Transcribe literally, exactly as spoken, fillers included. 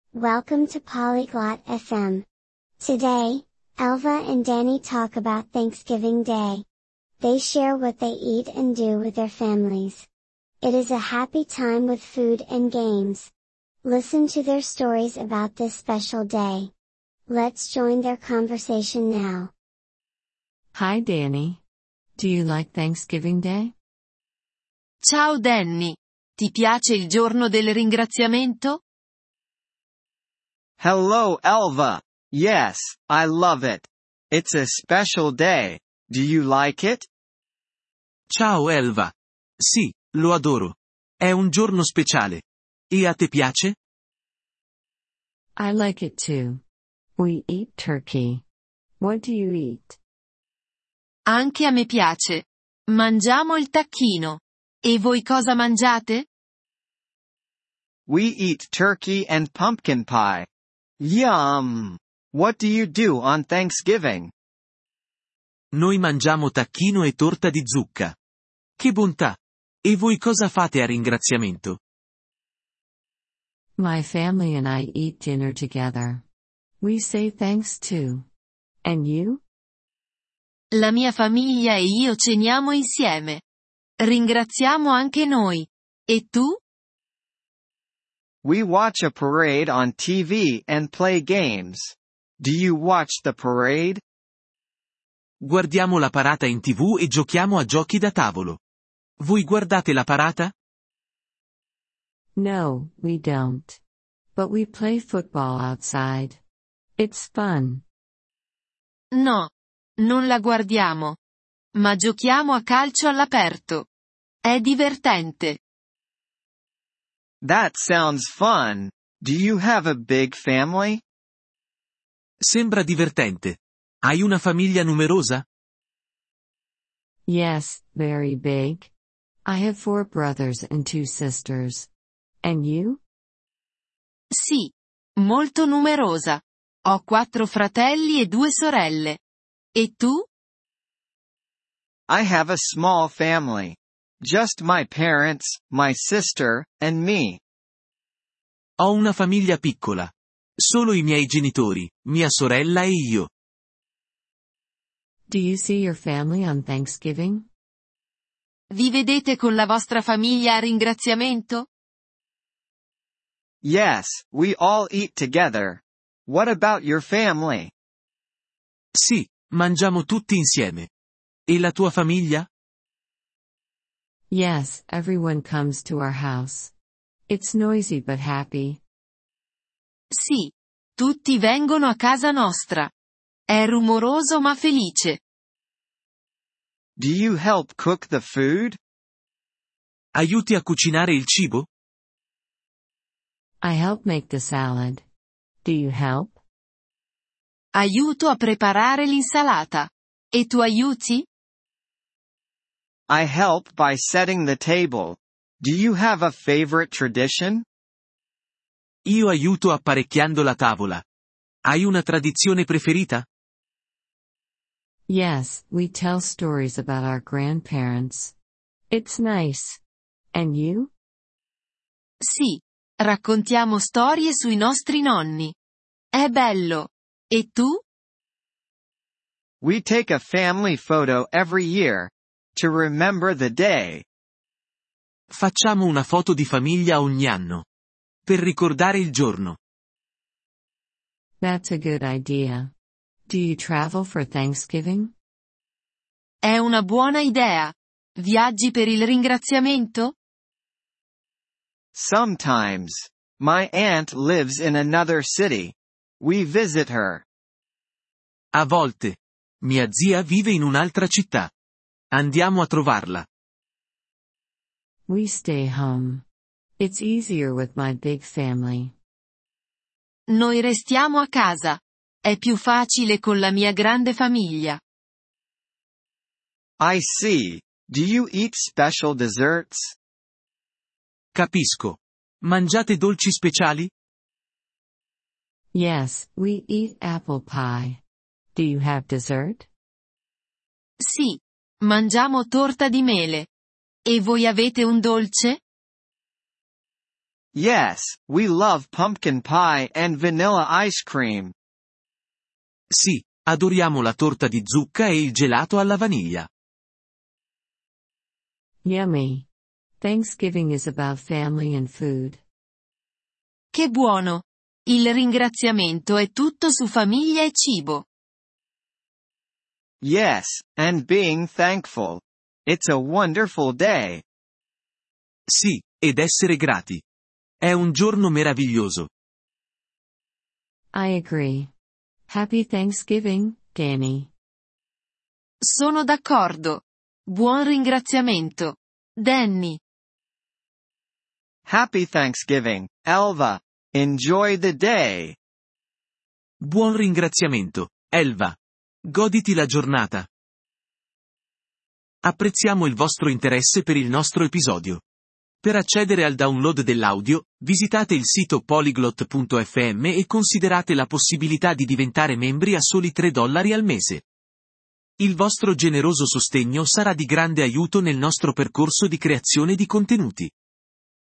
Welcome to Polyglot F M. Today, Elva and Danny talk about Thanksgiving Day. They share what they eat and do with their families. It is a happy time with food and games. Listen to their stories about this special day. Let's join their conversation now. Hi Danny. Do you like Thanksgiving Day? Ciao Danny. Ti piace il giorno del ringraziamento? Hello Elva. Yes, I love it. It's a special day. Do you like it? Ciao Elva. Sì, lo adoro. È un giorno speciale. E a te piace? I like it too. We eat turkey. What do you eat? Anche a me piace. Mangiamo il tacchino. E voi cosa mangiate? We eat turkey and pumpkin pie. Yum! What do you do on Thanksgiving? Noi mangiamo tacchino e torta di zucca. Che bontà! E voi cosa fate a ringraziamento? My family and I eat dinner together. We say thanks too. And you? La mia famiglia e io ceniamo insieme. Ringraziamo anche noi. E tu? We watch a parade on T V and play games. Do you watch the parade? Guardiamo la parata in tivù e giochiamo a giochi da tavolo. Voi guardate la parata? No, we don't. But we play football outside. It's fun. No. Non la guardiamo. Ma giochiamo a calcio all'aperto. È divertente. That sounds fun. Do you have a big family? Sembra divertente. Hai una famiglia numerosa? Yes, very big. I have four brothers and two sisters. And you? Sì. Molto numerosa. Ho quattro fratelli e due sorelle. E tu? I have a small family. Just my parents, my sister, and me. Ho una famiglia piccola. Solo i miei genitori, mia sorella e io. Do you see your family on Thanksgiving? Vi vedete con la vostra famiglia a ringraziamento? Yes, we all eat together. What about your family? Sì, mangiamo tutti insieme. E la tua famiglia? Yes, everyone comes to our house. It's noisy but happy. Sì. Tutti vengono a casa nostra. È rumoroso ma felice. Do you help cook the food? Aiuti a cucinare il cibo? I help make the salad. Do you help? Aiuto a preparare l'insalata. E tu aiuti? I help by setting the table. Do you have a favorite tradition? Io aiuto apparecchiando la tavola. Hai una tradizione preferita? Yes, we tell stories about our grandparents. It's nice. And you? Sì. Raccontiamo storie sui nostri nonni. È bello. E tu? We take a family photo every year. To remember the day. Facciamo una foto di famiglia ogni anno. Per ricordare il giorno. That's a good idea. Do you travel for Thanksgiving? È una buona idea. Viaggi per il ringraziamento? Sometimes. My aunt lives in another city. We visit her. A volte. Mia zia vive in un'altra città. Andiamo a trovarla. We stay home. It's easier with my big family. Noi restiamo a casa. È più facile con la mia grande famiglia. I see. Do you eat special desserts? Capisco. Mangiate dolci speciali? Yes, we eat apple pie. Do you have dessert? Sì. Mangiamo torta di mele. E voi avete un dolce? Yes, we love pumpkin pie and vanilla ice cream. Sì, adoriamo la torta di zucca e il gelato alla vaniglia. Yummy. Thanksgiving is about family and food. Che buono! Il ringraziamento è tutto su famiglia e cibo. Yes, and being thankful. It's a wonderful day. Sì, ed essere grati. È un giorno meraviglioso. I agree. Happy Thanksgiving, Danny. Sono d'accordo. Buon ringraziamento, Danny. Happy Thanksgiving, Elva. Enjoy the day. Buon ringraziamento, Elva. Goditi la giornata. Apprezziamo il vostro interesse per il nostro episodio. Per accedere al download dell'audio, visitate il sito polyglot punto effe emme e considerate la possibilità di diventare membri a soli tre dollari al mese. Il vostro generoso sostegno sarà di grande aiuto nel nostro percorso di creazione di contenuti.